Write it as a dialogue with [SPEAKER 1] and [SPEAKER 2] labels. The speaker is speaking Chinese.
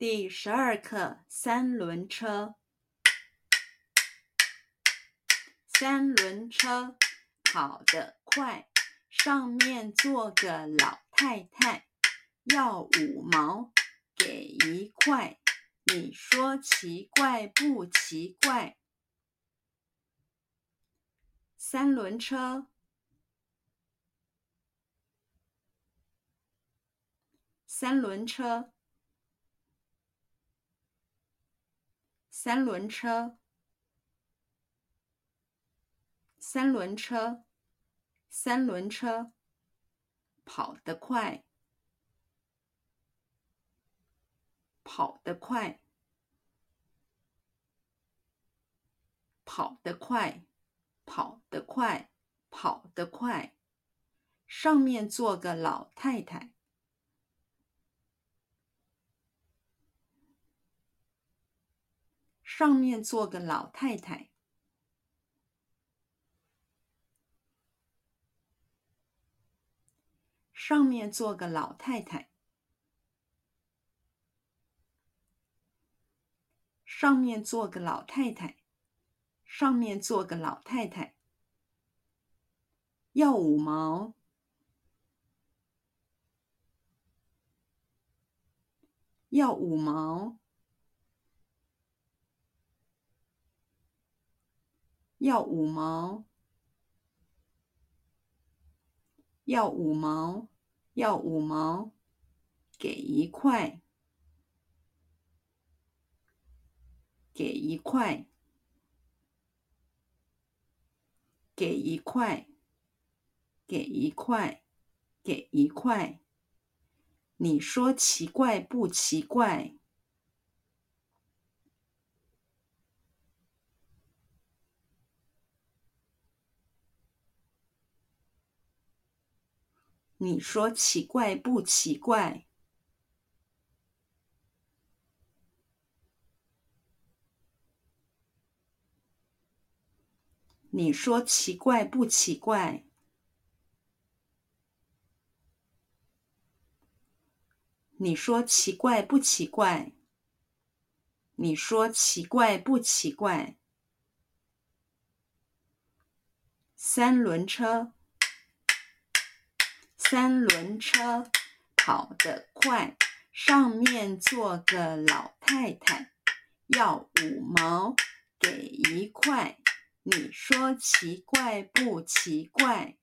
[SPEAKER 1] 第12課三輪車。三輪車跑得快，上面坐個老太太，要5毛給1塊，你說奇怪不奇怪？三輪車，三輪車，三輪車，三輪車，三輪車，跑得快，跑得快，跑得快，跑得快，跑得快，上面坐個老太太，上面坐個老太太，上面坐個老太太，上面坐個老太太，上面坐個老太太，要5毛，要5毛，要5毛，要5毛，要5毛，給1塊，給1塊，給1塊，給1塊，給1塊，你說奇怪不奇怪？你說奇怪不奇怪？你說奇怪不奇怪？你說奇怪不奇怪？你說奇怪不奇怪？三輪車，三輪車跑得快，上面坐個老太太，要5毛給1塊，你說奇怪不奇怪？